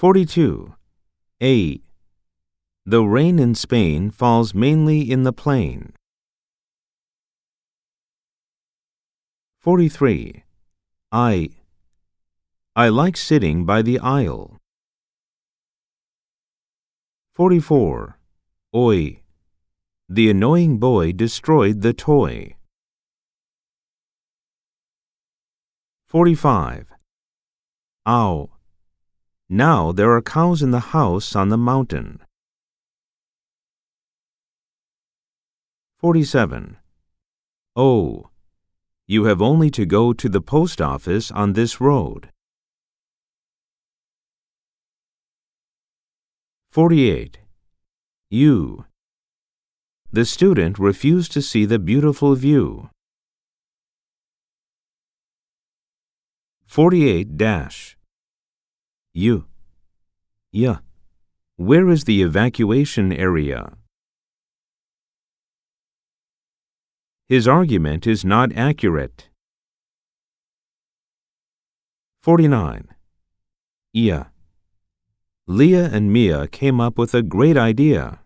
42. A. The rain in Spain falls mainly in the plain. 43. I like sitting by the aisle. 44. Oi. The annoying boy destroyed the toy. 45. Ow. Now there are cows in the house on the mountain. 47. Oh. You have only to go to the post office on this road. 48. You. The student refused to see the beautiful view. 48. You. Yeah. Where is the evacuation area? His argument is not accurate. 49. Yeah. Leah and Mia came up with a great idea.